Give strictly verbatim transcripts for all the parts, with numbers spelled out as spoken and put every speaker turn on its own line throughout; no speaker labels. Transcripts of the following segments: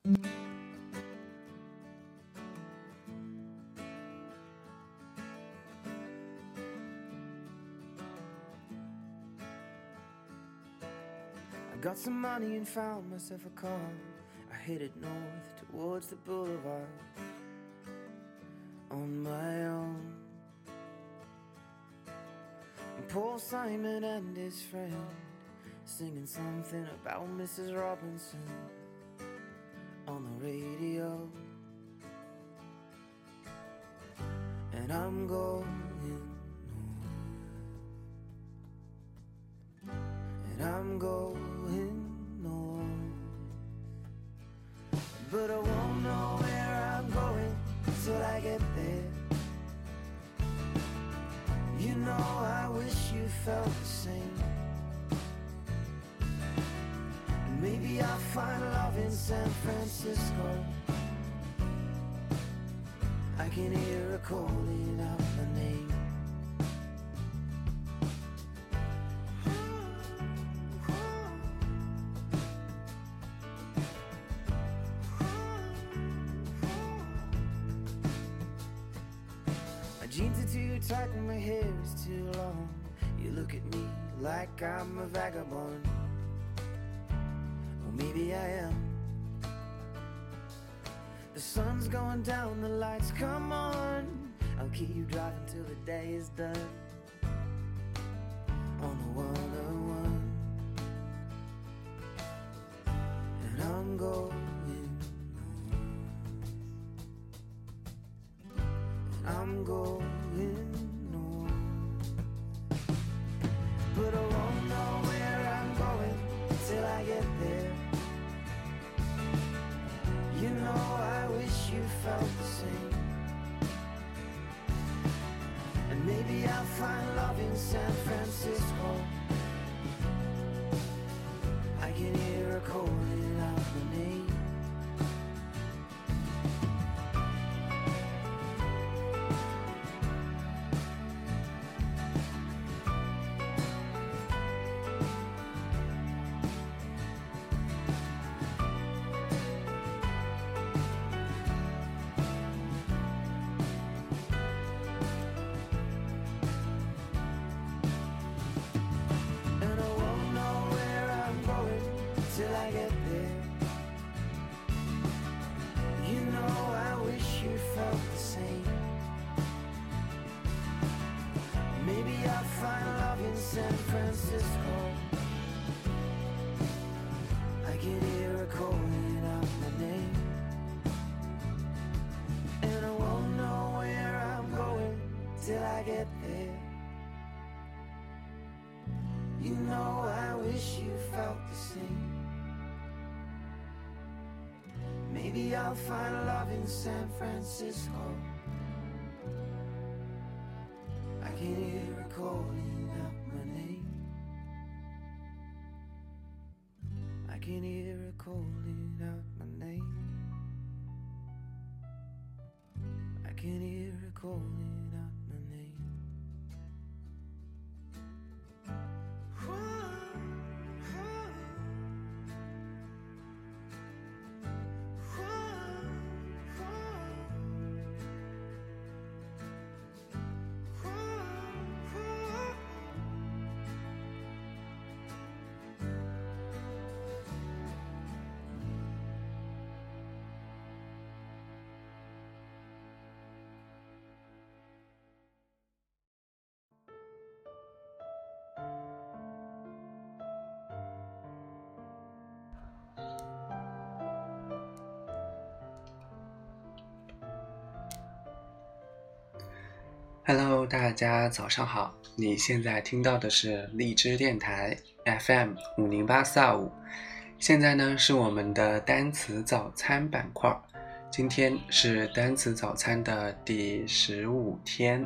Got some money and found myself a car. I headed north towards the boulevard on my own. And Paul Simon and his friend singing something about Missus Robinson on the radio. And I'm going north, and I'm going north, but I won't know where I'm going till I get there. You know I wish you felt the same. And maybe I'll find love in San Francisco. I can hear her calling out my name. My jeans are too tight and my hair is too long. You look at me like I'm a vagabond. Or maybe I am. The sun's going down, the lights come on. I'll keep you driving till the day is done on the one oh one. And I'm going north, and I'm going north, but I won't know where I'm going till I get there. You know I wish you felt the same. And maybe I'll find love in San Francisco. I can hear her calling out my name. Till I get there. You know I wish you felt the same. Maybe I'll find love in San Francisco. I can hear her calling out my name. And I won't know where I'm going till I get there. You know I wish you felt the same. Maybe I'll find love in San Francisco. I can hear her calling out my name. I can hear her calling out my name. I can hear her calling out my name.
Hello， 大家早上好！你现在听到的是荔枝电台 F M 五零八四二五。现在呢是我们的单词早餐板块，今天是单词早餐的第十五天。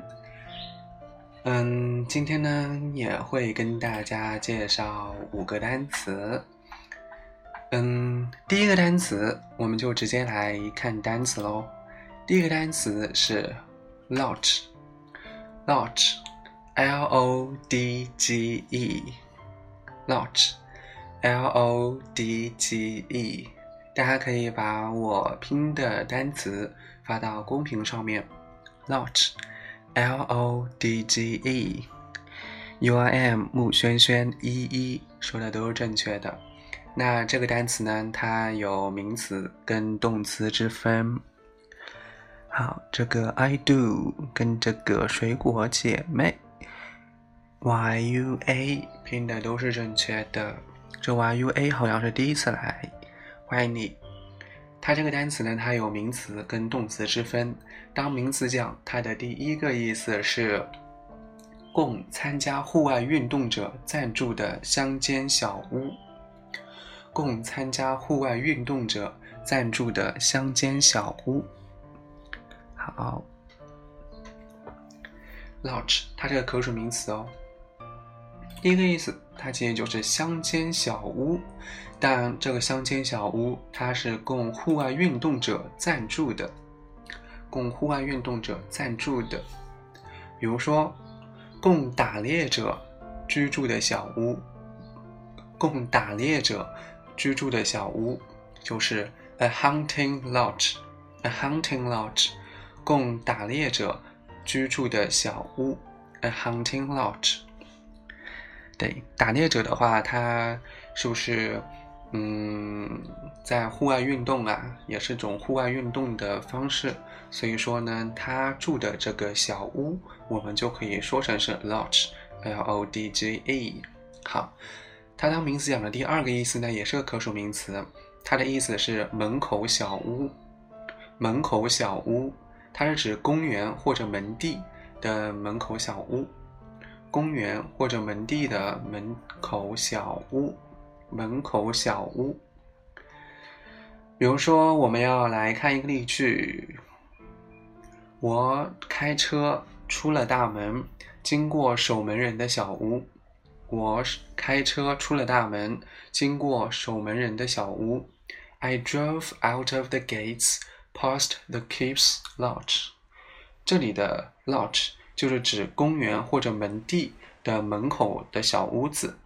嗯，今天呢也会跟大家介绍五个单词。嗯，第一个单词我们就直接来看单词咯。第一个单词是 Lodge。Lodge, L O D G E, Lodge, L O D G E， 大家可以把我拼的单词发到公屏上面 Lodge L O D G E U R M 木轩轩一一说的都是正确的。那这个单词呢，它有名词跟动词之分。好，这个 I do 跟这个水果姐妹 Y U A 拼的都是正确的。这 Y U A 好像是第一次来，欢迎你。它这个单词呢，它有名词跟动词之分。当名词讲，它的第一个意思是供参加户外运动者暂住的乡间小屋。供参加户外运动者暂住的乡间小屋。好 Lodge 它这个可数名词哦。第一个意思，它其实就是乡间小屋，但这个乡间小屋它是供户外运动者暂住的，供户外运动者暂住的。比如说供打猎者居住的小屋，供打猎者居住的小屋就是 a hunting lodge a hunting lodge 供打猎者居住的小屋 a hunting lodge。 对，打猎者的话，他是不是嗯，在户外运动啊，也是种户外运动的方式，所以说呢，他住的这个小屋我们就可以说成是 lodge L O D G E。 好，它当名词讲的第二个意思呢，也是个可数名词，它的意思是门口小屋。门口小屋它是指公园或者门地的门口小屋，公园或者门地的门口小屋，门口小屋。比如说我们要来看一个例句，我开车出了大门，经过守门人的小屋。我开车出了大门，经过守门人的小屋。 I drove out of the gates past the keep's lodge。 这里的 lodge 就是指公园或者门地的门口的小屋子。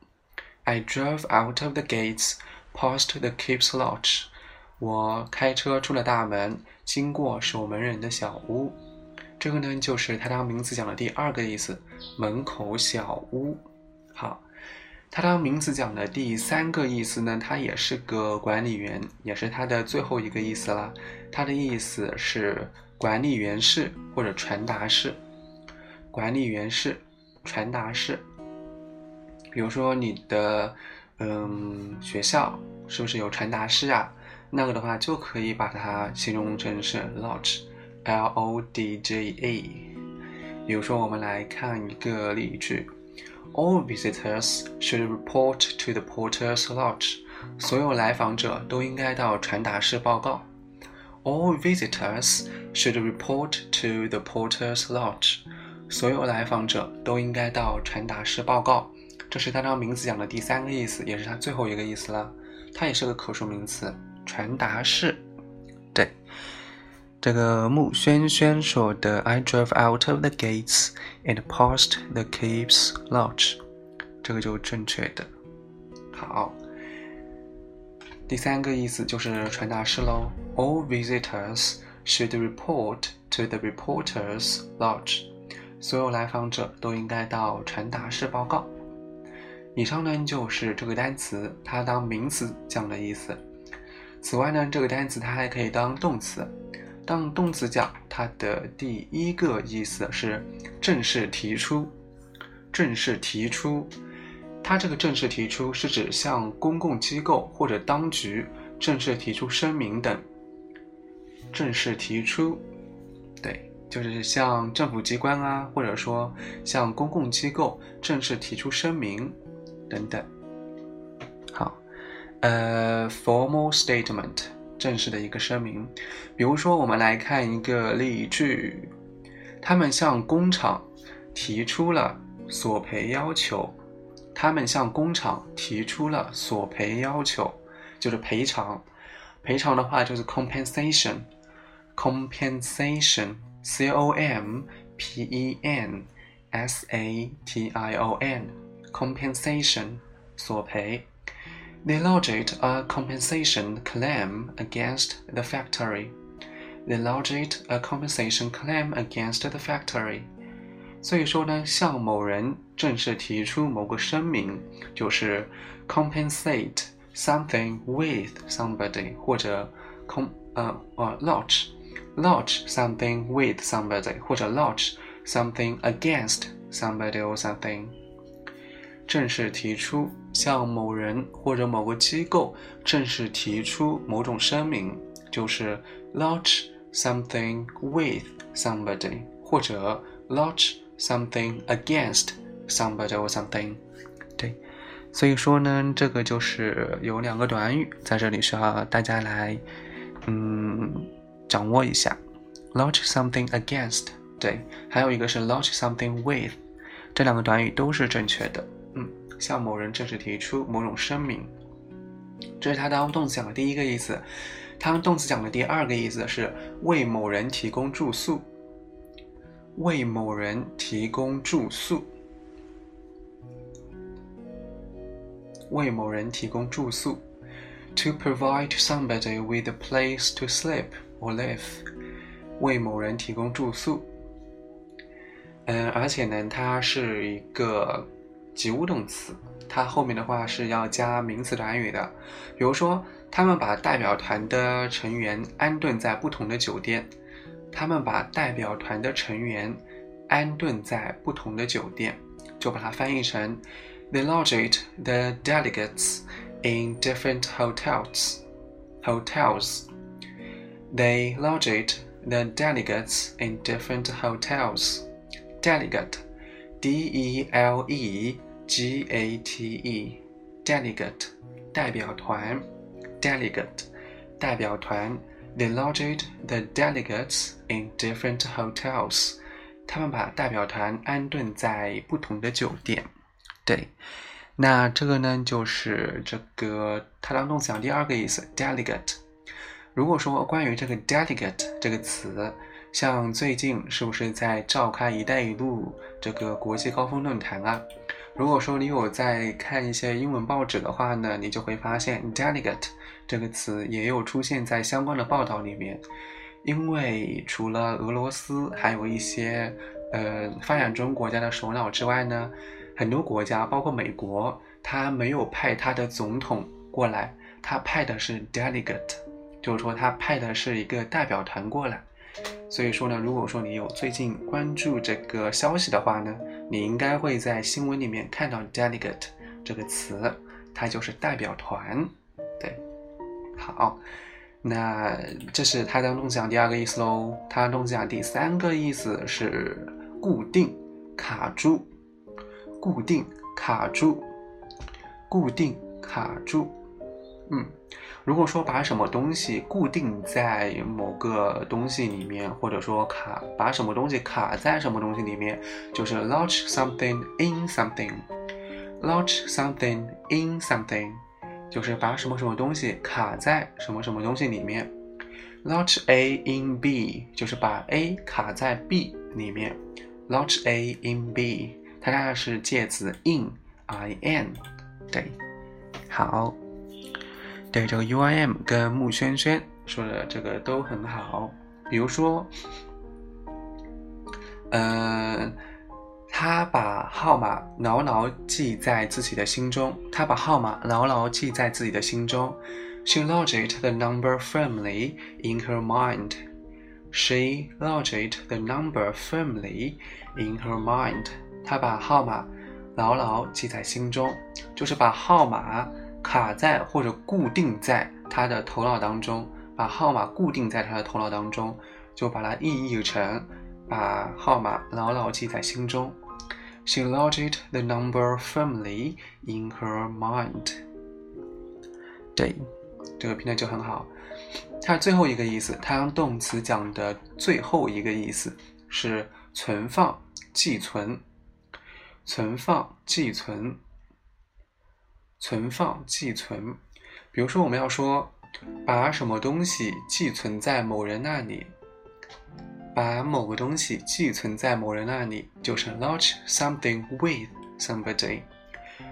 I drove out of the gates past the keep's lodge。 我开车出了大门，经过守门人的小屋。这个呢，就是它当名词讲的第二个意思，门口小屋。好，它当名词讲的第三个意思呢，它也是个管理员，也是它的最后一个意思啦。它的意思是管理员室或者传达室。管理员室、传达室。比如说你的嗯学校是不是有传达室啊？那个的话就可以把它形容成是 lodge L O D G E。 比如说我们来看一个例句， All visitors should report to the porter's lodge。 所有来访者都应该到传达室报告。 All visitors should report to the porter's lodge。 所有来访者都应该到传达室报告。这是它当名词讲的第三个意思，也是它最后一个意思了。它也是个可数名词，传达室。对，这个木轩轩说的 I drove out of the gates and past the keep's lodge， 这个就正确的。好，第三个意思就是传达室咯。 All visitors should report to the reporter's lodge。 所有来访者都应该到传达室报告。以上呢就是这个单词它当名词讲的意思。此外呢，这个单词它还可以当动词。当动词讲，它的第一个意思是正式提出。正式提出，它这个正式提出是指向公共机构或者当局正式提出声明等。正式提出，对，就是向政府机关啊，或者说向公共机构正式提出声明等等。好，呃 formal statement， 正式的一个声明。比如说我们来看一个例句，他们向工厂提出了索赔要求。他们向工厂提出了索赔要求，就是赔偿。赔偿的话就是 compensation compensation C O M P E N S A T I O N compensation 索赔。 They lodged a compensation claim against the factory. They lodged a compensation claim against the factory. 所以说呢，向某人正式提出某个声明，就是 compensate something with somebody， 或者 com 呃呃 lodge lodge something with somebody， 或者 lodge something against somebody or something。正式提出，向某人或者某个机构正式提出某种声明，就是 lodge something with somebody， 或者 lodge something against somebody or something。 对，所以说呢，这个就是有两个短语在这里需要大家来嗯掌握一下， lodge something against， 对，还有一个是 lodge something with， 这两个短语都是正确的。嗯，向某人正式提出某种声明，这是它当动词讲的第一个意思。它当动词讲的第二个意思是为某人提供住宿，为某人提供住宿，为某人提供住宿 to provide somebody with a place to sleep or live， 为某人提供住宿。嗯，而且呢，它是一个及物动词，它后面的话是要加名词短语的。比如说，他们把代表团的成员安顿在不同的酒店，他们把代表团的成员安顿在不同的酒店，就把它翻译成 They lodged the delegates in different hotels. Hotels. They lodged the delegates in different hotels. Delegate, D E L E G A T E, delegate, 代表团 delegate, 代表团 They lodged the delegates in different hotels. 他们把代表团安顿在不同的酒店。对，那这个呢，就是这个它当动词讲第二个意思 delegate。 如果说关于这个 delegate 这个词，像最近是不是在召开一带一路这个国际高峰论坛啊？如果说你有在看一些英文报纸的话呢，你就会发现 delegate 这个词也有出现在相关的报道里面。因为除了俄罗斯还有一些呃发展中国家的首脑之外呢，很多国家包括美国，他没有派他的总统过来，他派的是 delegate， 就是说他派的是一个代表团过来。所以说呢，如果说你有最近关注这个消息的话呢，你应该会在新闻里面看到 delegate 这个词，它就是代表团。对，好，那这是它当动词讲第二个意思咯。它当动词讲第三个意思是固定、卡住、固定、卡住、固定、卡住。嗯，如果说把什么东西固定在某个东西里面，或者说卡把什么东西卡在什么东西里面，就是 lodge something in something。 lodge something in something 就是把什么什么东西卡在什么什么东西里面。 lodge A in B 就是把 A 卡在 B 里面。 lodge A in B 它大概是介词 in I N。 对，好，对，这个 U I M 跟穆轩轩说的这个都很好。比如说呃，他把号码牢牢记在自己的心中。他把号码牢牢记在自己的心中。 She lodged the number firmly in her mind. She lodged the number firmly in her mind. 他把号码牢牢记在心中，就是把号码卡在或者固定在他的头脑当中，把号码固定在他的头脑当中，就把它意译成把号码牢牢记在心中。 She lodged the number firmly in her mind. 对，这个拼的就很好。它最后一个意思，它当动词讲的最后一个意思是存放、寄存。存放、寄存。存放、寄存。比如说我们要说把什么东西寄存在某人那里，把某个东西寄存在某人那里，就是 lodge something with somebody。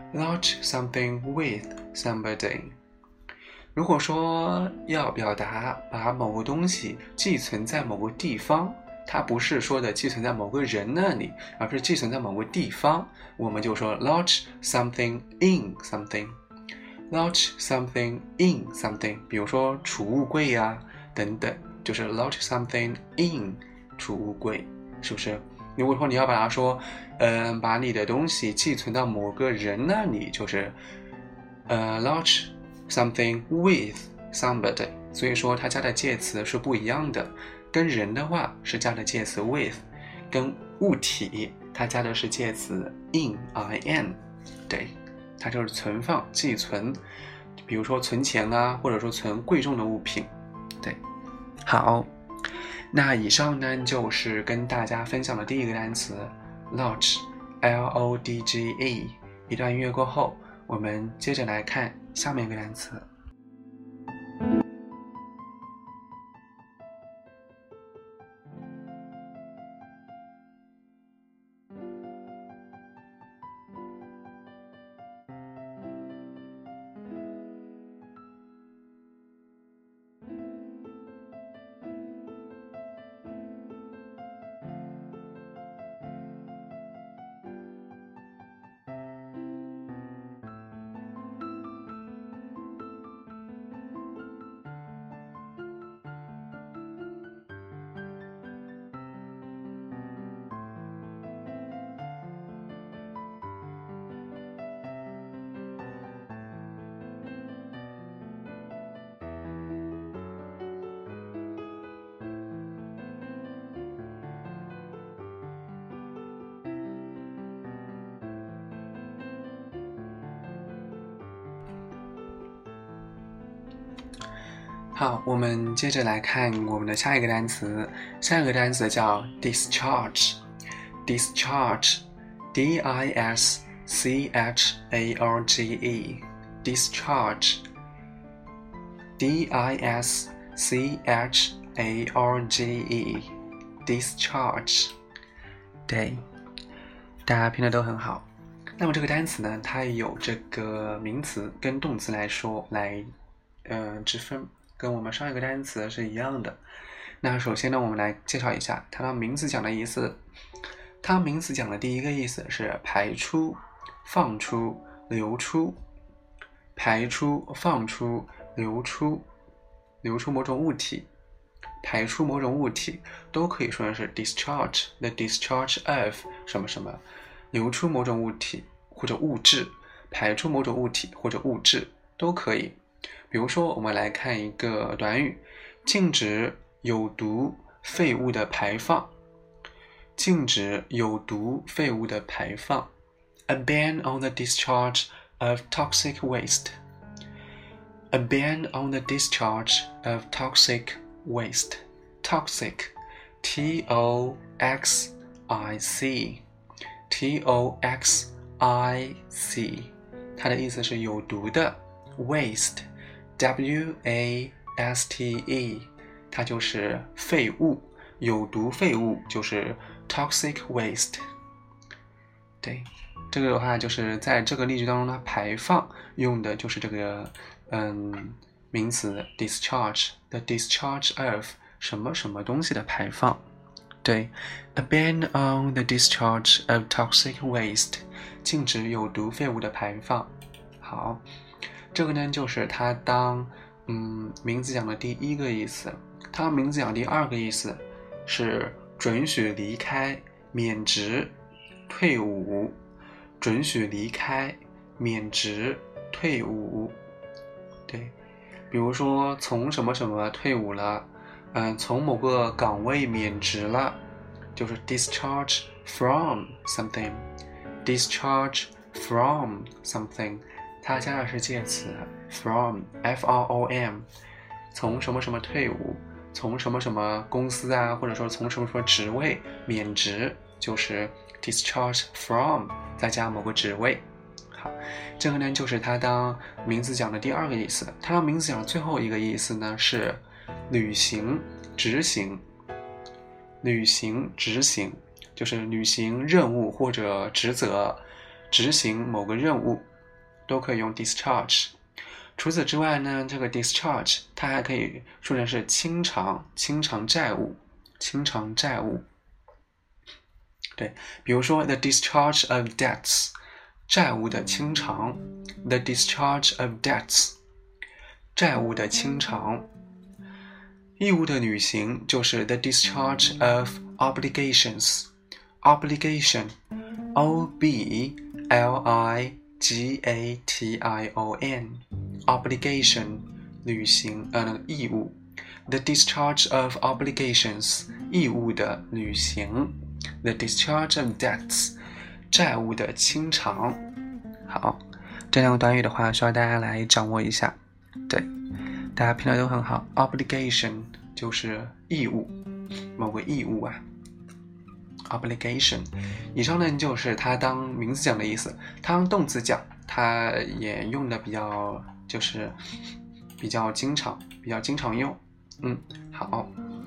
launch something with somebody。如果说要表达把某个东西寄存在某个地方，它不是说的寄存在某个人那里，而是寄存在某个地方，我们就说 launch something in something。 launch something in something， 比如说储物柜啊等等，就是 launch something in 储物柜，是不是？如果说你要把它说呃，把你的东西寄存到某个人那里，就是呃 launch something with somebody。 所以说它加的介词是不一样的，跟人的话是加的介词 with， 跟物体它加的是介词 in in。 对，它就是存放寄存，比如说存钱啊，或者说存贵重的物品。对，好，那以上呢就是跟大家分享的第一个单词 lodge L O D G E。 一段音乐过后，我们接着来看下面一个单词。好，我们接着来看我们的下一个单词。下一个单词叫 discharge。 discharge D I S C H A R G E discharge D I S C H A R G E discharge。 对，大家拼的都很好。那么这个单词呢，它有这个名词跟动词来说来呃之分，跟我们上一个单词是一样的。那首先呢，我们来介绍一下它的名词讲的意思。它名词讲的第一个意思是排出、放出、流出。排出、放出、流出，流出某种物体，排出某种物体都可以说的是 discharge the discharge of 什么什么，流出某种物体或者物质，排出某种物体或者物质都可以。比如说我们来看一个短语，禁止有毒废物的排放。禁止有毒废物的排放 A ban on the discharge of toxic waste. A ban on the discharge of toxic waste. Toxic T O X I C T O X I C 它的意思是有毒的。 Waste W A S T E 它就是废物，有毒废物就是 toxic waste。 对，这个的话就是在这个例句当中呢，排放用的就是这个嗯名词 discharge the discharge of 什么什么东西的排放。对， A ban on the discharge of toxic waste 禁止有毒废物的排放。好，这个呢就是它当嗯名词讲的第一个意思。它名词讲第二个意思是准许离开、免职、退伍。准许离开、免职、退伍。对，比如说从什么什么退伍了，嗯，从某个岗位免职了，就是 discharge from something。 discharge from something 它加的是介词 from F R O M。 从什么什么退伍，从什么什么公司啊，或者说从什么什么职位免职，就是 discharge from 再加某个职位。好，这个呢就是它当名词讲的第二个意思。它当名词讲的最后一个意思呢是履行、执行。履行、执行就是履行任务或者职责，执行某个任务。 都可以用 discharge。除此之外呢，这个 discharge 它还可以说成是清偿，清偿债务，清偿债务。对，比如说 the discharge of debts， 债务的清偿 the discharge of debts， 债务的清偿。义务的履行就是 the discharge of obligations， obligation O B L I G A T I O N obligation 履行呃那个义务 the discharge of obligations 义务的履行 the discharge of debts 债务的清偿。好，这两个短语的话需要大家来掌握一下。对，大家拼的都很好。 obligation 就是义务，某个义务啊obligation。 以上呢就是它当名词讲的意思，它当动词讲它也用的比较就是比较经常比较经常用。嗯，好，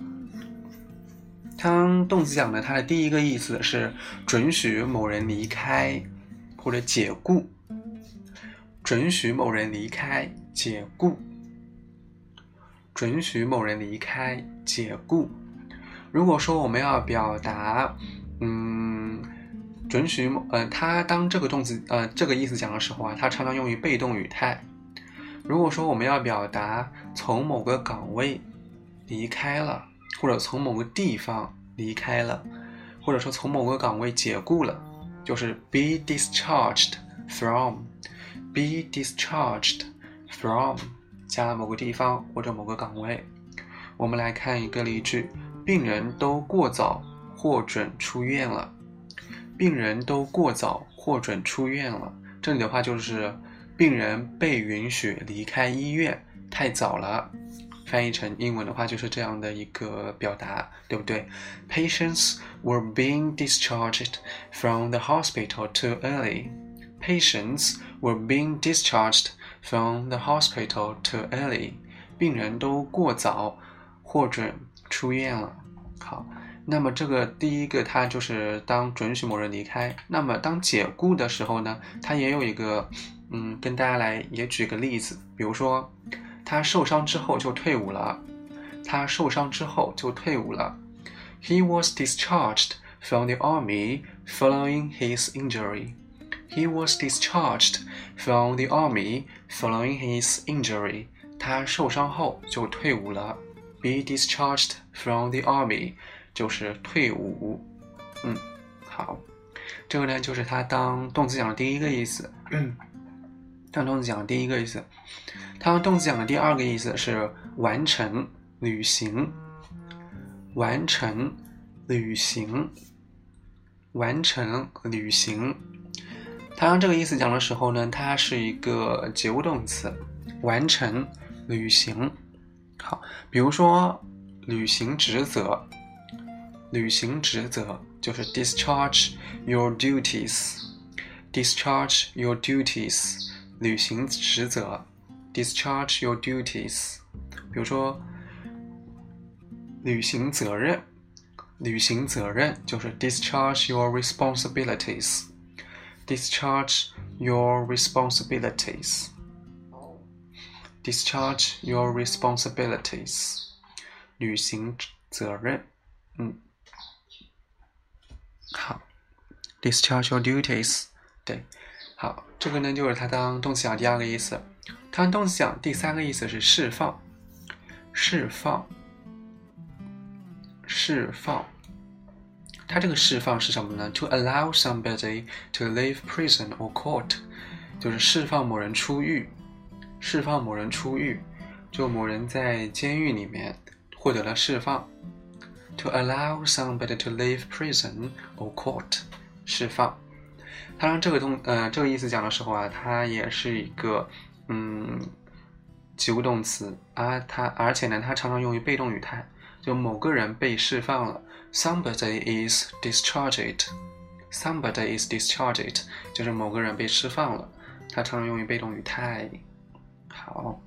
它当动词讲呢，它的第一个意思是准许某人离开或者解雇，准许某人离开解雇，准许某人离开解雇。如果说我们要表达嗯准许某呃它当这个动词呃这个意思讲的时候啊，它常常用于被动语态。如果说我们要表达从某个岗位离开了，或者从某个地方离开了，或者说从某个岗位解雇了，就是 be discharged from be discharged from 加了某个地方或者某个岗位。我们来看一个例句，病人都过早获准出院了，病人都过早获准出院了。这里的话就是病人被允许离开医院太早了，翻译成英文的话就是这样的一个表达，对不对？ Patients were being discharged from the hospital too early. Patients were being discharged from the hospital too early. 病人都过早获准出院了。好，那么这个第一个它就是当准许某人离开。那么当解雇的时候呢，它也有一个嗯，跟大家来也举个例子，比如说他受伤之后就退伍了，他受伤之后就退伍了。 He was discharged from the army following his injury. He was discharged from the army following his injury. 他受伤后就退伍了。 Be discharged from the army 就是退伍。嗯，好，这个呢就是他当动词讲的第一个意思。嗯，当动词讲的第一个意思。它当动词讲的第二个意思是完成履行，完成履行，完成履行。它当这个意思讲的时候呢，它是一个及物动词，完成履行。好，比如说履行职责，履行职责就是 discharge your duties， discharge your duties 履行职责 discharge your duties。 比如说履行责任，履行责任就是 discharge your responsibilities， discharge your responsibilities， discharge your responsibilities 履行责任。嗯，好 discharge your duties。 对，好，这个呢就是它当动词讲第二个意思。它当动词讲第三个意思是释放，释放，释放。它这个释放是什么呢？ To allow somebody to leave prison or court， 就是释放某人出狱，释放某人出狱，就某人在监狱里面获得了释放。 To allow somebody to leave prison or court， 释放。它让这个动呃这个意思讲的时候啊，它也是一个嗯及物动词啊，它而且呢它常常用于被动语态，就某个人被释放了。 Somebody is discharged， Somebody is discharged 就是某个人被释放了，它常常用于被动语态。好，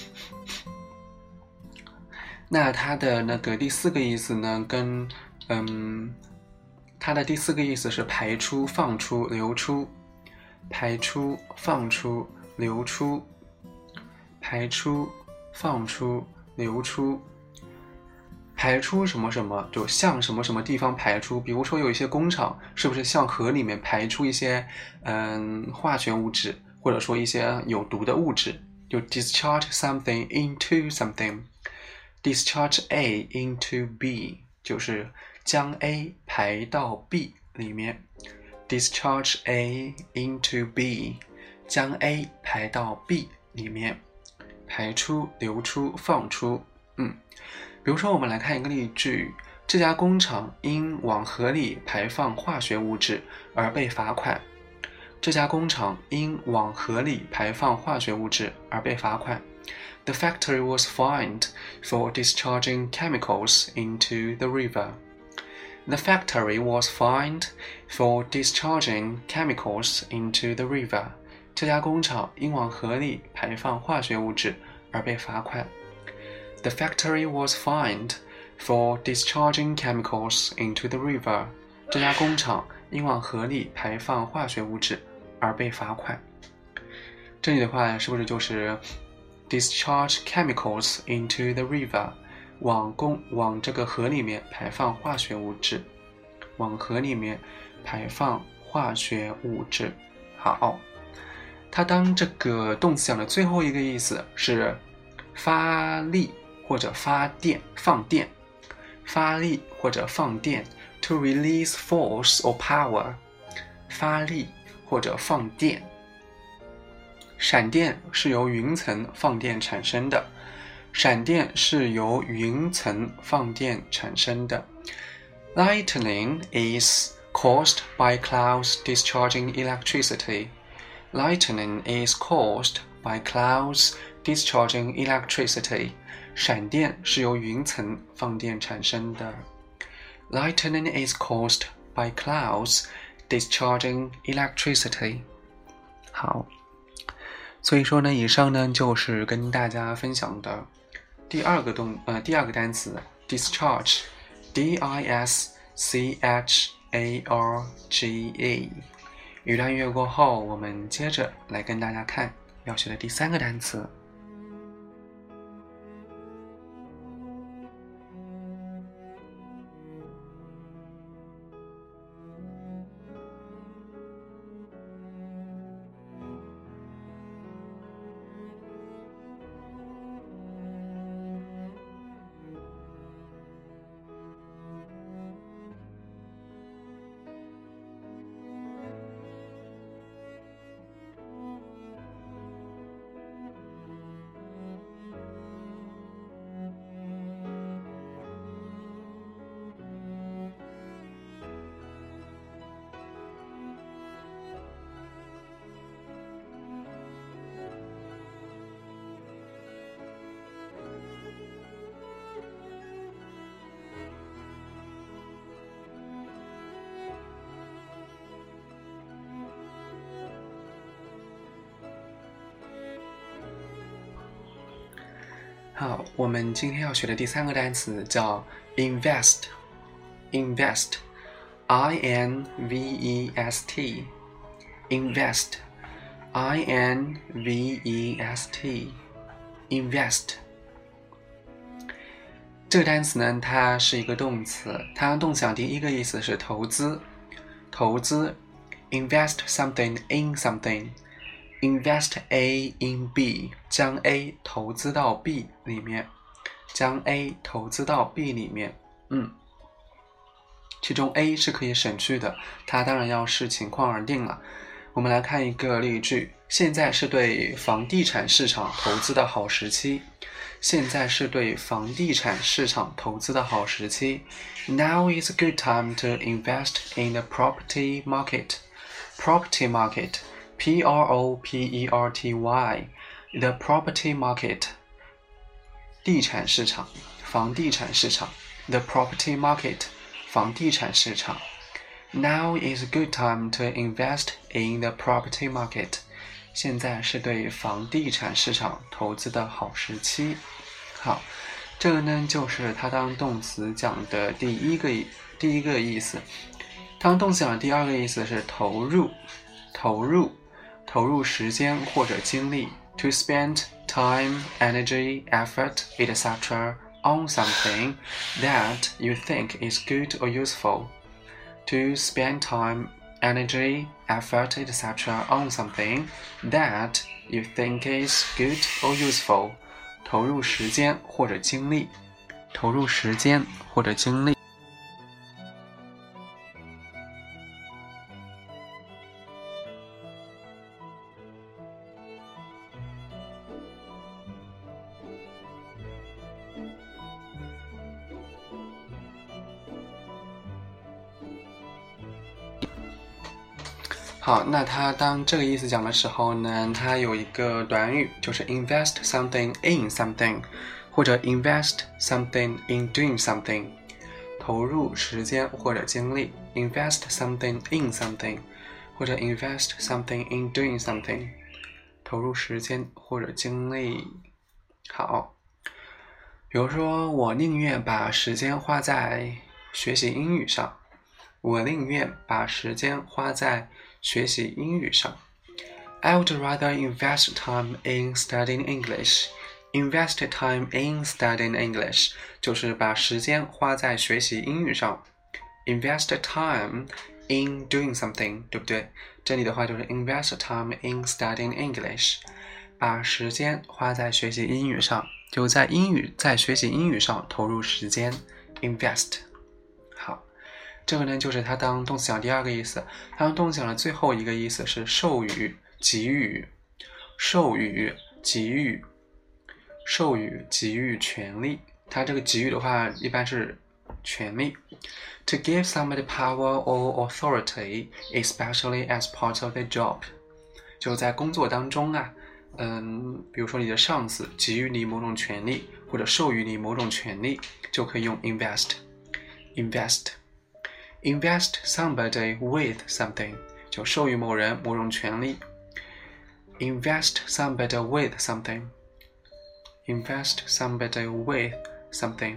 那它的那个第四个意思呢，跟嗯，它的第四个意思是排出、放出、流出，排出、放出、 流出，排出，放出，流出。排出什么什么，就向什么什么地方排出，比如说有一些工厂是不是向河里面排出一些嗯化学物质，或者说一些有毒的物质，就 discharge something into something， discharge A into B 就是将 A 排到 B 里面， discharge A into B 将 A 排到 B 里面，排出，流出，放出。嗯，比如说我们来看一个例句，这家工厂因往河里排放化学物质而被罚款。这家工厂因往河里排放化学物质而被罚款。The factory was fined for discharging chemicals into the river. The factory was fined for discharging chemicals into the river. 这家工厂因往河里排放化学物质而被罚款。The factory was fined for discharging chemicals into the river. 这家工厂因往河里排放化学物质而被罚款。这里的话是不是就是 discharge chemicals into the river， 往公往这个河里面排放化学物质，往河里面排放化学物质。好，它当这个动词讲的最后一个意思是发力或者发电，放电，发力或者放电 to release force or power， 发力或者放电。闪电是由云层放电产生的，闪电是由云层放电产生的。Lightning is caused by clouds discharging electricity. Lightning is caused by clouds discharging electricity. 闪电是由云层放电产生的。Lightning is caused by clouds discharging electricity. 好，所以说呢，以上呢就是跟大家分享的第二个动呃第二个单词 discharge， D I S C H A R G E。语段乐过后，我们接着来跟大家看要学的第三个单词。好，我们今天要学的第三个单词叫 invest， invest， I N V E S T， invest， I N V E S T， invest。 这个单词呢，它是一个动词，它动词讲第一个意思是投资，投资 invest something in something。Invest A in B， 将 A 投资到 B 里面，将 A 投资到 B 里面。嗯，其中 A 是可以省去的，它当然要视情况而定了。我们来看一个例句：现在是对房地产市场投资的好时期。现在是对房地产市场投资的好时期。Now is a good time to invest in the property market. Property market.P R O P E R T Y The property market 地产市场，房地产市场 The property market 房地产市场 Now is a good time to invest in the property market 现在是对房地产市场投资的好时期。好，这个呢就是它当动词讲的第一个第一个意思。当动词讲的第二个意思是投入，投入投入时间或者精力 to spend time, energy, effort, et cetera on something that you think is good or useful. To spend time, energy, effort, et cetera on something that you think is good or useful. 投入时间或者精力，投入时间或者精力。好，那它当这个意思讲的时候呢，它有一个短语，就是 invest something in something， 或者 invest something in doing something， 投入时间或者精力 invest something in something， 或者 invest something in doing something， 投入时间或者精力。好，比如说我宁愿把时间花在学习英语上，我宁愿把时间花在学习英语上。 I would rather invest time in studying English. Invest time in studying English 就是把时间花在学习英语上。 Invest time in doing something， 对不对？这里的话就是 invest time in studying English， 把时间花在学习英语上，就在英语在学习英语上投入时间 invest。 好，这个呢就是它当动词讲第二个意思。它当动词讲的最后一个意思是授予、给予、授予、给予、授予、给予权利。它这个给予的话一般是权利。 To give somebody power or authority, especially as part of their job， 就在工作当中啊，嗯，比如说你的上司给予你某种权利，或者授予你某种权利，就可以用 invest。 invest invest somebody with something， 就授予某人某种权利。 invest somebody with something invest somebody with something。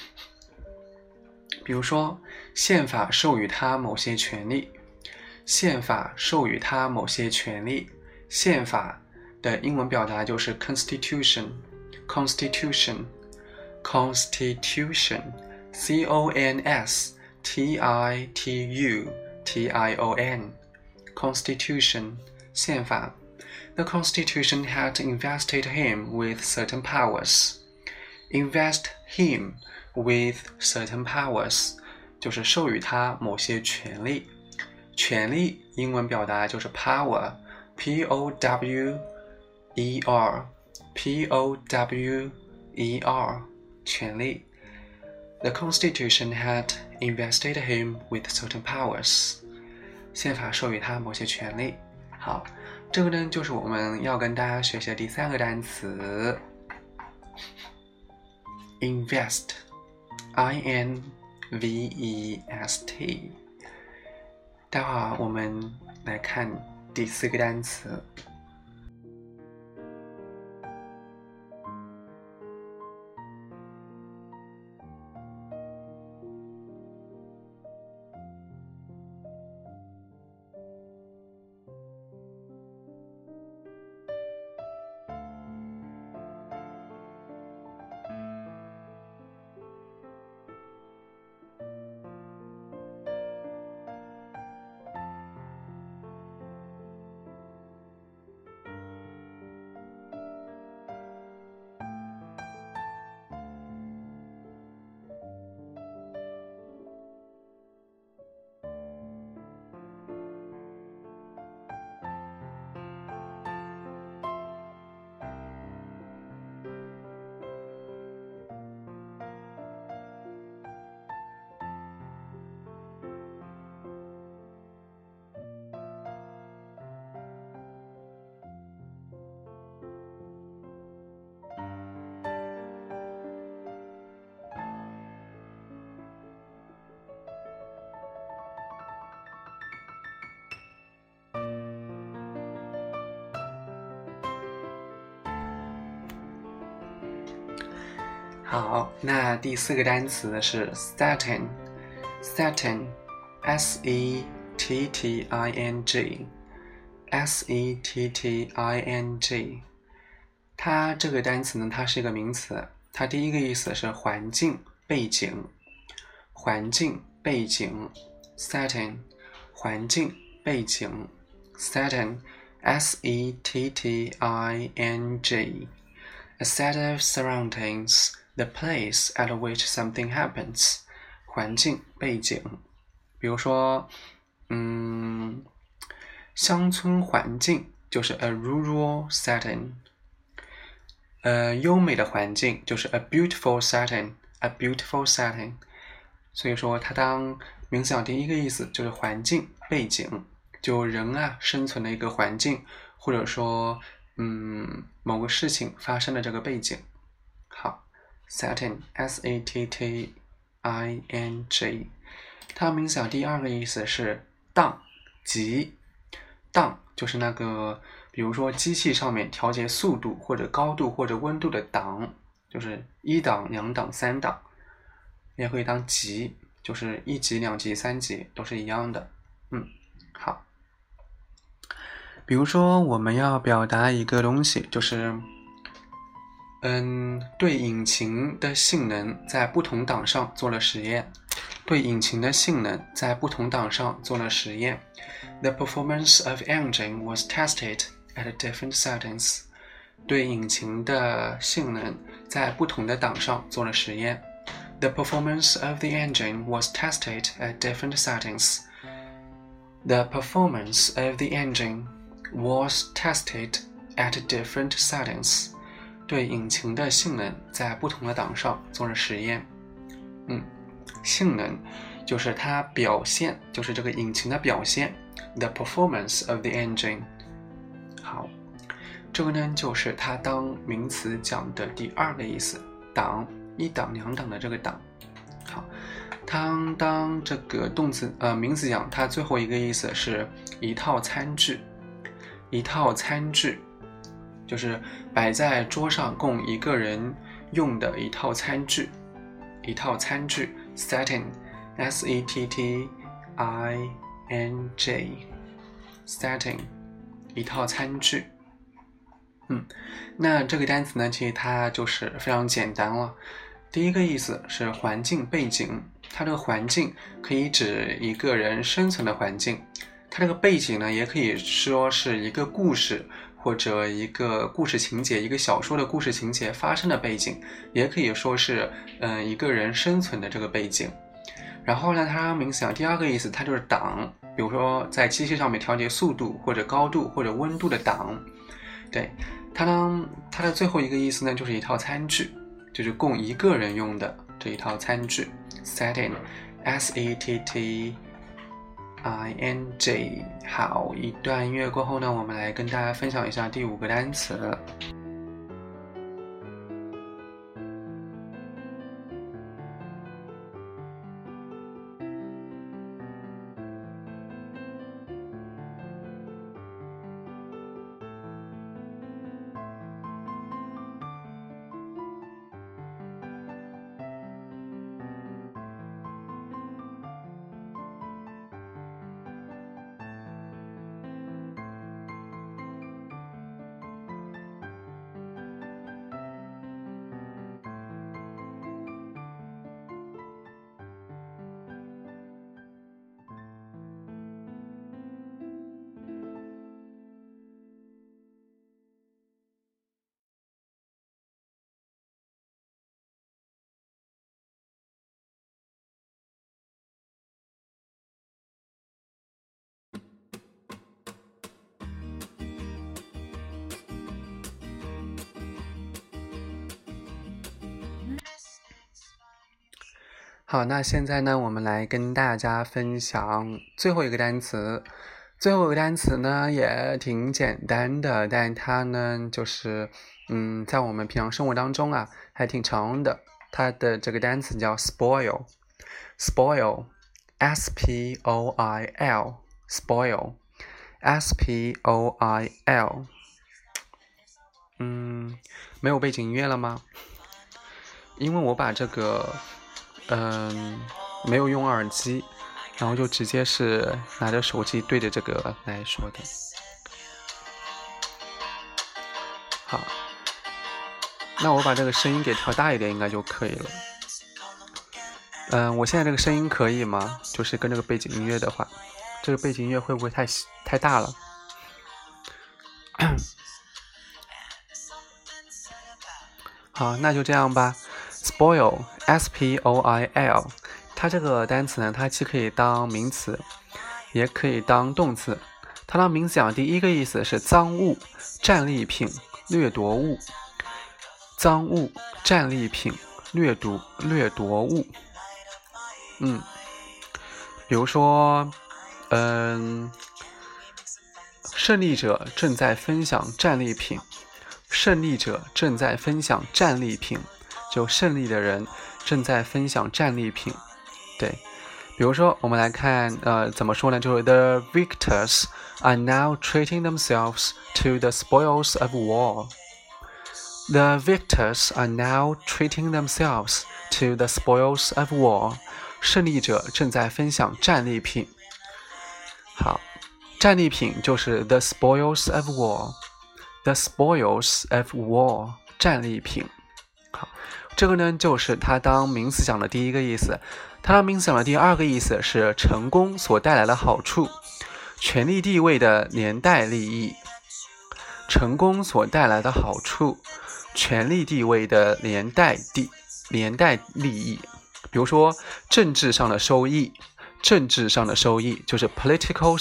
比如说宪法授予他某些权利，宪法授予他某些权利。宪法的英文表达就是 constitution constitution constitution C O N S T I T U T I O N constitution 宪法。 The constitution had invested him with certain powers. Invest him with certain powers 就是授予他某些权利。权利英文表达就是 power P O W E R P O W E R 权利。 The constitution had invested him with certain powers. 宪法授予他某些权利。好，这个呢就是我们要跟大家学习的第三个单词 invest I N V E S T。 待会儿我们来看第四个单词。好，那第四个单词是 setting setting S E T T I N G S E T T I N G。 它这个单词呢，它是一个名词，它第一个意思是环境、背景，环境、背景 setting， 环境、背景 setting S E T T I N G， a set of surroundings, the place at which something happens， 环境、背景。比如说嗯，乡村环境就是 a rural setting， 呃，优美的环境就是 a beautiful setting， a beautiful setting。 所以说它当名词讲第一个意思就是环境、背景，就人啊生存的一个环境，或者说嗯某个事情发生的这个背景。好 setting S A T T I N G。 它名词讲第二个意思是档级，档就是那个比如说机器上面调节速度或者高度或者温度的档，就是一档、两档、三档，也可以当级，就是一级、两级、三级都是一样的。嗯，好。比如说我们要表达一个东西，就是嗯，对引擎的性能在不同档上做了实验。对引擎的性能在不同档上做了实验。The performance of engine was tested at different settings。 对引擎的性能在不同的档上做了实验。The performance of the engine was tested at different settings. The performance of the engine was tested at different settings。 对引擎的性能在不同的档上做了实验。嗯。性能就是它表现，就是这个引擎的表现 the performance of the engine。 好，这个呢就是它当名词讲的第二个意思，档，一档两档的这个档。好，它当这个动词呃名词讲，它最后一个意思是一套餐具，一套餐具就是摆在桌上供一个人用的一套餐具，一套餐具setting S E T T I N G setting 一套餐具。嗯，那这个单词呢，其实它就是非常简单了。第一个意思是环境背景，它这个环境可以指一个人生存的环境，它这个背景呢，也可以说是一个故事或者一个故事情节，一个小说的故事情节发生的背景，也可以说是嗯、呃、一个人生存的这个背景。然后呢，它名词讲第二个意思，它就是档，比如说在机器上面调节速度或者高度或者温度的档。对，它呢，它的最后一个意思呢，就是一套餐具，就是供一个人用的这一套餐具 setting S E T T I N G。 好，一段音乐过后呢，我们来跟大家分享一下第五个单词。好，那现在呢，我们来跟大家分享最后一个单词。最后一个单词呢也挺简单的，但它呢就是嗯，在我们平常生活当中啊还挺常用的。它的这个单词叫 spoil spoil S P O I L spoil S P O I L。 嗯，没有背景音乐了吗？因为我把这个嗯没有用耳机，然后就直接是拿着手机对着这个来说的。 好，那我把这个声音给调大一点应该就可以了。嗯，我现在这个声音可以吗？就是跟这个背景音乐的话，这个背景音乐会不会太太大了？好，那就这样吧。Spoil, S P O I L， 它这个单词呢，它既可以当名词，也可以当动词。它当名词讲，第一个意思是赃物、战利品、掠夺物。赃物、战利品、掠夺掠夺物。嗯，比如说，嗯，胜利者正在分享战利品。胜利者正在分享战利品，就胜利的人正在分享战利品。对，比如说我们来看，呃，怎么说呢？就是 The victors are now treating themselves to the spoils of war. The victors are now treating themselves to the spoils of war. 胜利者正在分享战利品。好，战利品就是 the spoils of war。The spoils of war， 战利品。好，这个呢就是它当名词讲的第一个意思。它当名词讲的第二个意思是成功所带来的好处，权力地位的连带利益。成功所带来的好处，权力地位的连带地连带利益。比如说政治上的收益，政治上的收益就是 political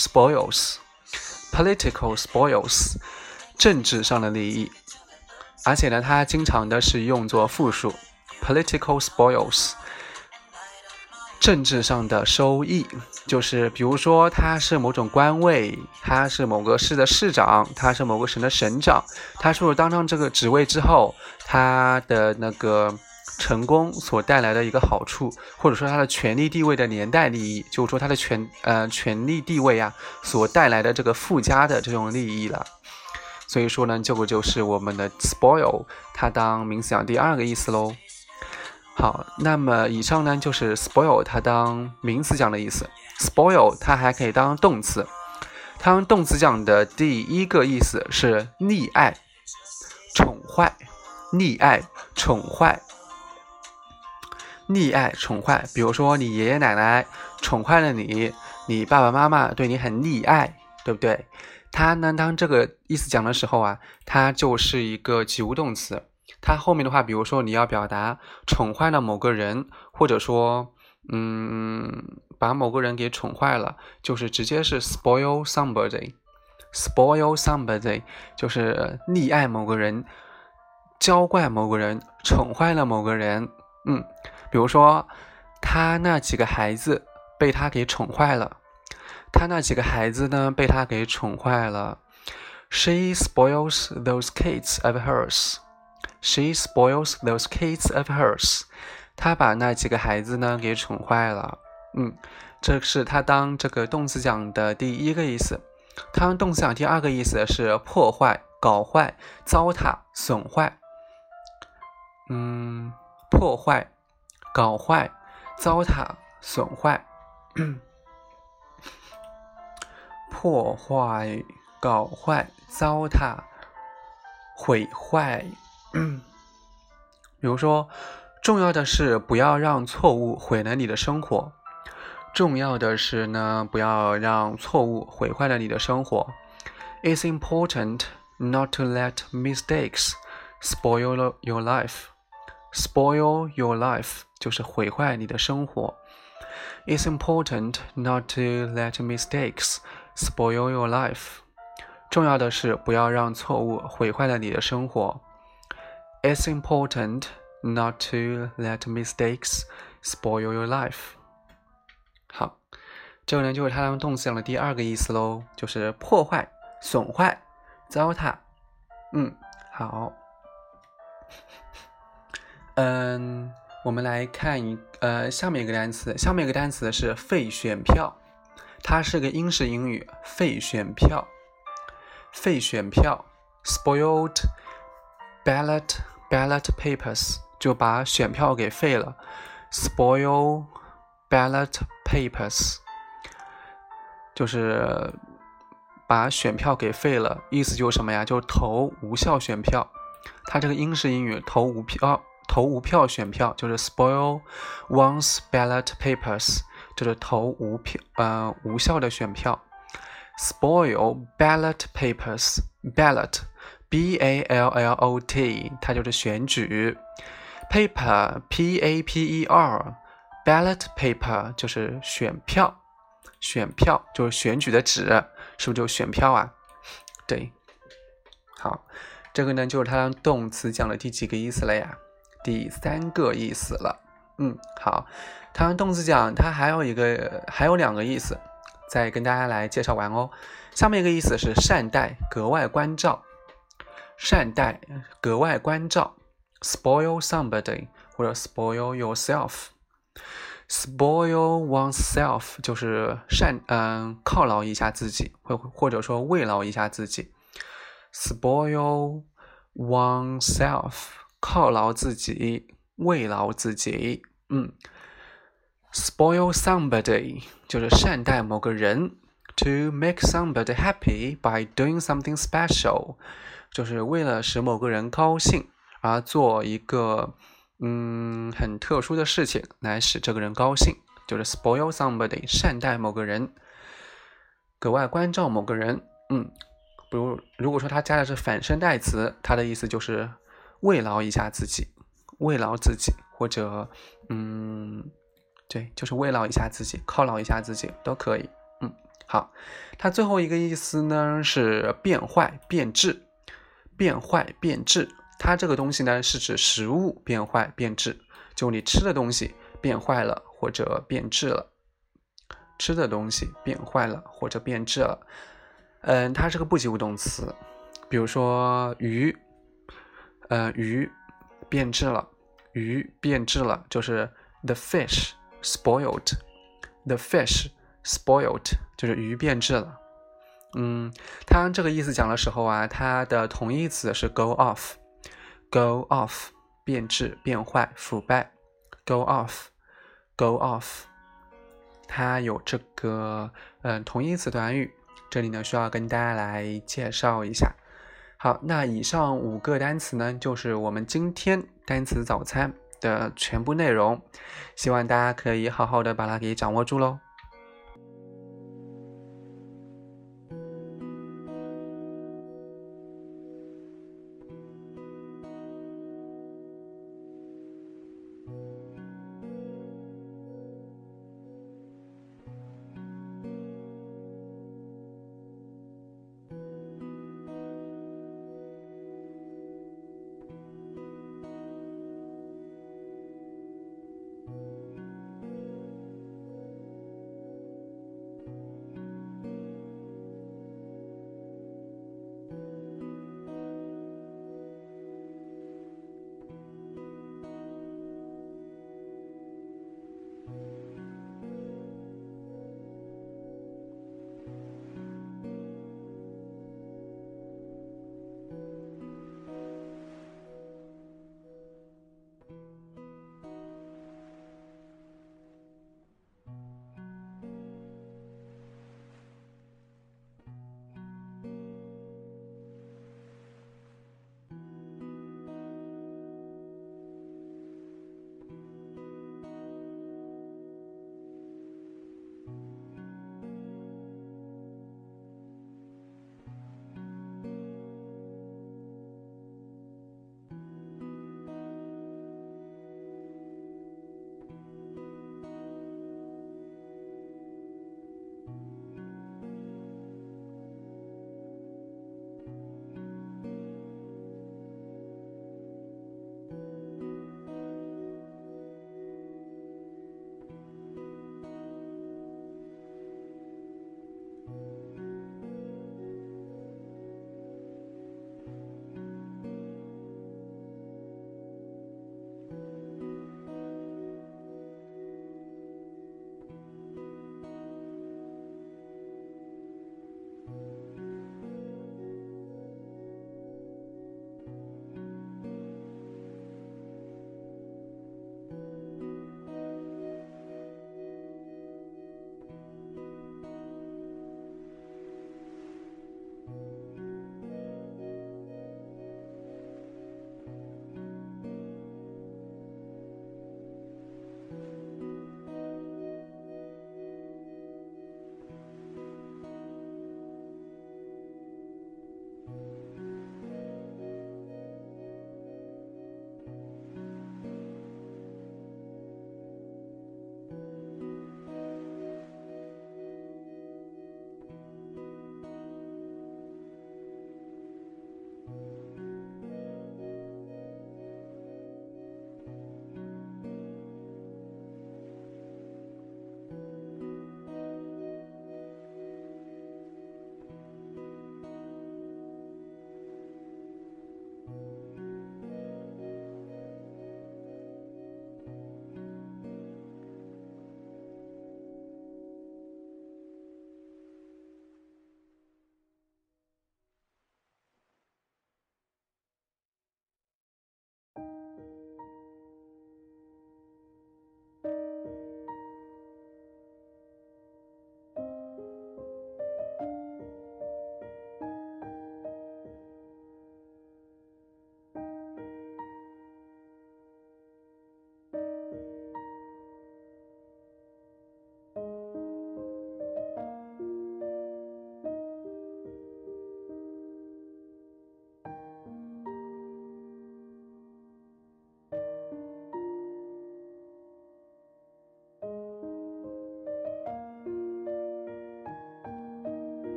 spoils。political spoils。政治上的利益，而且呢，它经常的是用作复数 ，political spoils。政治上的收益，就是比如说他是某种官位，他是某个市的市长，他是某个省的省长，他是不是当上这个职位之后，他的那个成功所带来的一个好处，或者说他的权力地位的连带利益，就是说他的权呃权力地位啊所带来的这个附加的这种利益了。所以说呢，这个就是我们的 spoil， 它当名词讲第二个意思咯。好，那么以上呢就是 spoil 它当名词讲的意思。spoil 它还可以当动词，它当动词讲的第一个意思是溺爱、宠坏、溺爱、宠坏、溺爱、宠坏。比如说你爷爷奶奶宠坏了你，你爸爸妈妈对你很溺爱，对不对？它呢，当这个意思讲的时候啊，它就是一个及物动词。它后面的话，比如说你要表达宠坏了某个人，或者说，嗯，把某个人给宠坏了，就是直接是 spoil somebody。spoil somebody 就是溺爱某个人，娇惯某个人，宠坏了某个人。嗯，比如说他那几个孩子被他给宠坏了。他那几个孩子呢，被他给宠坏了。She spoils those kids of hers. She spoils those kids of hers. 他把那几个孩子呢给宠坏了。嗯，这是他当这个动词讲的第一个意思。他当动词讲第二个意思是破坏、搞坏、糟蹋、损坏。嗯，破坏、搞坏、糟蹋、损坏。破坏、搞坏、糟蹋、毁坏。比如说，重要的是不要让错误毁了你的生活。重要的是呢，不要让错误毁坏了你的生活。It's important not to let mistakes spoil your life. Spoil your life 就是毁坏你的生活。It's important not to let mistakes spoil your life. 重要的是不要让错误毁坏了你的生活。It's important not to let mistakes spoil your life. 好，这个呢就是它当动词讲的第二个意思咯，就是破坏、损坏、糟蹋。嗯，好。嗯，我们来看一呃下面一个单词，下面一个单词是废选票。它是个英式英语，废选票，废选票 ，spoiled ballot ballot papers 就把选票给废了 ，spoil ballot papers 就是把选票给废了，意思就是什么呀？就投无效选票。 它这个英式英语投无票投无票选票就是 spoil one's ballot papers， 就是投无票呃无效的选票。spoil ballot papers ballot B A L L O T 它就是选举。paper P A P E R ballot paper 就是选票，选票就是选举的纸，是不是就选票啊？对，好，这个呢就是它动词讲的第几个意思了呀？第三个意思了。嗯，好，它动词讲它还有一个还有两个意思，再跟大家来介绍完哦。下面一个意思是善待，格外关照，善待，格外关照 spoil somebody 或者 spoil yourself。spoil oneself 就是善嗯犒劳一下自己，或或者说慰劳一下自己。spoil oneself 犒劳自己，慰劳自己。嗯 spoil somebody 就是善待某个人。To make somebody happy by doing something special 就是为了使某个人高兴而做一个嗯很特殊的事情来使这个人高兴，就是 spoil somebody 善待某个人，格外关照某个人。嗯，比如如果说他加的是反身代词，它的意思就是慰劳一下自己，慰劳自己，或者嗯对，就是慰劳一下自己，犒劳一下自己都可以。嗯，好，它最后一个意思呢是变坏变质，变坏变质。它这个东西呢是指食物变坏变质，就你吃的东西变坏了或者变质了，吃的东西变坏了或者变质了。嗯，它是个不及物动词，比如说鱼，呃，鱼变质了，鱼变质了，就是 the fish spoiled，the fish spoiled 就是鱼变质了。嗯，它这个意思讲的时候啊，它的同义词是 go off，go off 变质变坏腐败 go off go off 它有这个嗯同义词短语，这里呢需要跟大家来介绍一下。好，那以上五个单词呢就是我们今天单词早餐的全部内容，希望大家可以好好的把它给掌握住咯。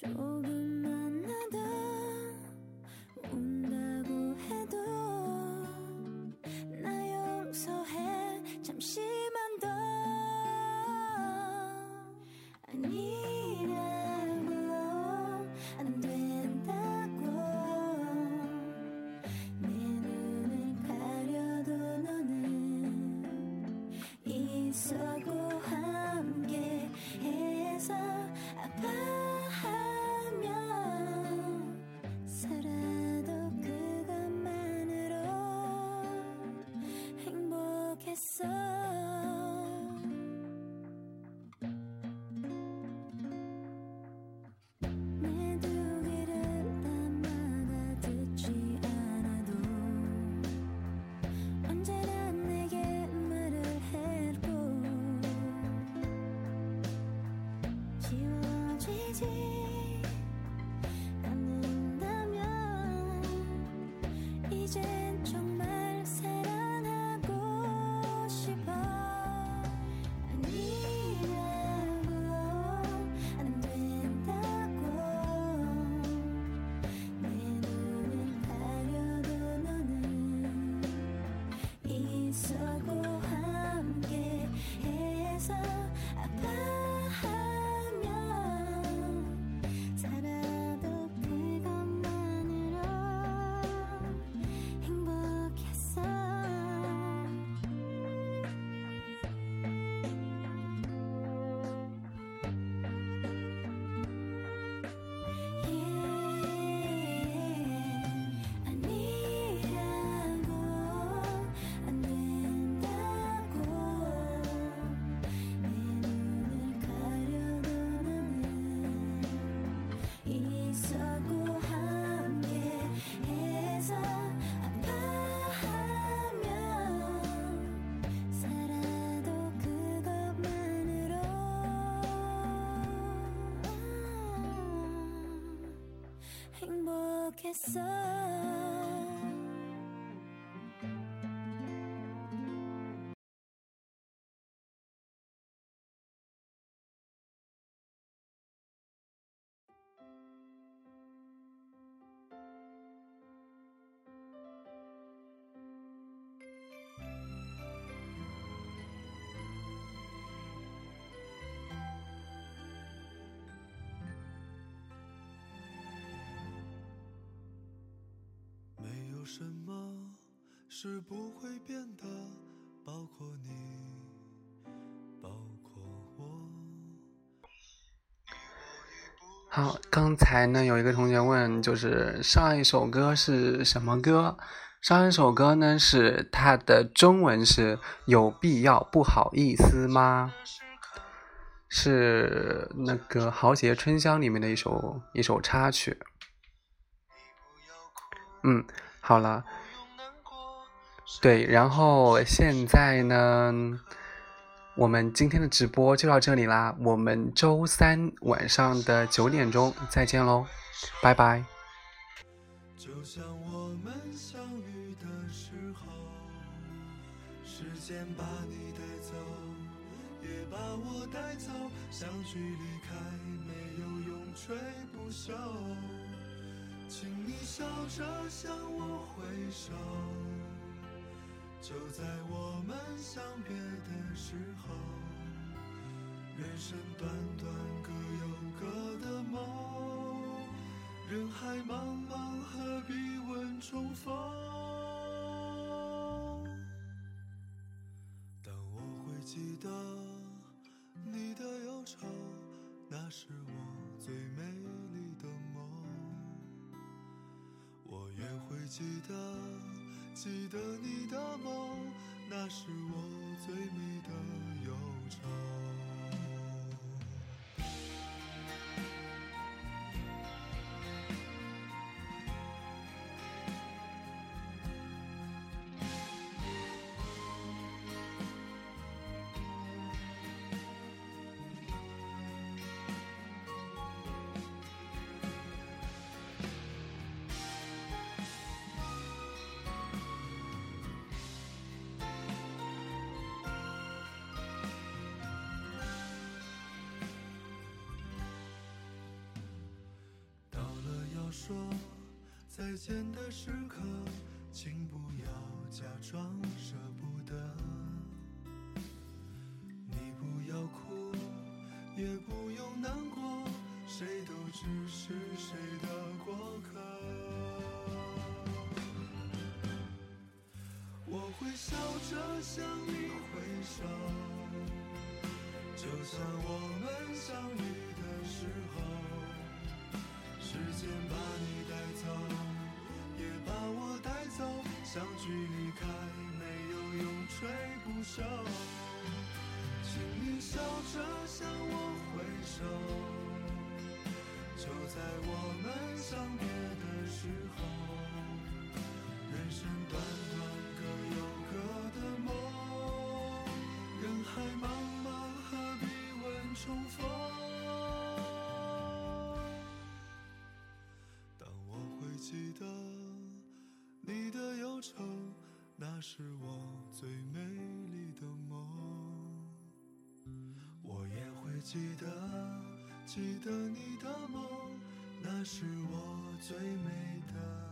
조금만 나도 운다고 해도 나 용서해 잠시만 더 아니라고 안 된다고 내 눈을 가려도 너는 있었고 함께 해서 아파하며 살아도 그것만으로 행복했어 내 두 귀를 다 막아 듣지 않아도 언제나 내게 말을 했고 지워지지 않는다면 이젠 정말 사랑하고 싶어 아니라고 안 된다고 내 눈을 가려도 너는 있었고 함께 해서 아파하며 살아도 그것만으로 행복했어 아니라고 안 된다고 내 눈을 가려도 너는 있었고 함께 해서 아파하며 살아도 그것만으로 행복했어
没有什么是不会变的，包括你，包括我。
好，刚才呢有一个同学问，就是上一首歌是什么歌？上一首歌呢是它的中文是有必要不好意思吗？是那个《豪杰春香》里面的一首一首插曲。嗯，好了，对，然后现在呢，我们今天的直播就到这里啦，我们周三晚上的九点钟再见喽，拜拜。
就像我们相遇的时候，时间把你带走，也把我带走，相聚离开，没有永垂不朽。请你笑着向我挥手，就在我们相别的时候，人生短短各有各的梦，人海茫茫何必问重逢。但我会记得你的忧愁，那是我最美丽的梦。我也会记得，记得你的梦，那是我最美的忧愁。 说再见的时刻，请不要假装舍不得。你不要哭，也不用难过，谁都只是谁的过客。我会笑着向你挥手，就像我们相遇的时候，时间把你带走，也把我带走，相聚离开没有永垂不朽。请你笑着向我挥手，就在我们相别的时候，人生短短各有各的梦，人海茫茫何必问重逢。当我会记得你的忧愁，那是我最美丽的梦。我也会记得记得你的梦，那是我最美的